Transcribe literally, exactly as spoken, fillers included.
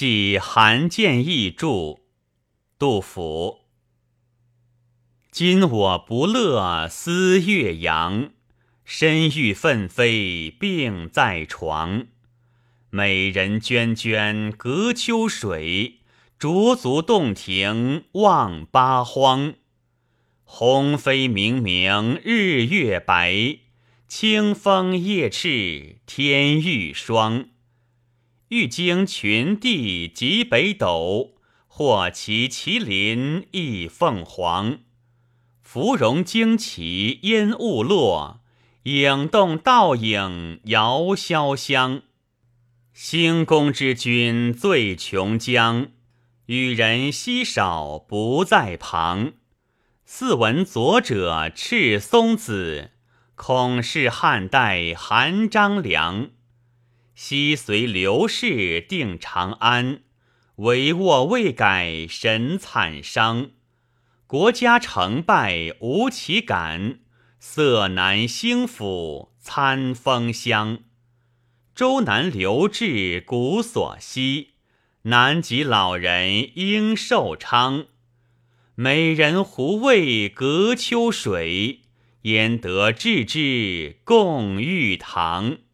即韩建义著。杜甫。今我不乐思岳阳，身欲奋飞病在床。美人涓涓隔秋水，濯足洞庭望八荒。鸿飞明明日月白，清风夜翅天欲霜。欲经群帝极北斗，或骑麒麟翼凤凰。芙蓉旌旗烟雾落，影动倒影遥潇湘。兴公之君醉琼浆，与人稀少不在旁。似闻左者赤松子，恐是汉代韩张良。昔随刘氏定长安，帷幄未改神惨伤。国家成败无其感，色难兴复餐风香。周南留至古所稀，南极老人应寿昌。美人胡为隔秋水，焉得置之共玉堂。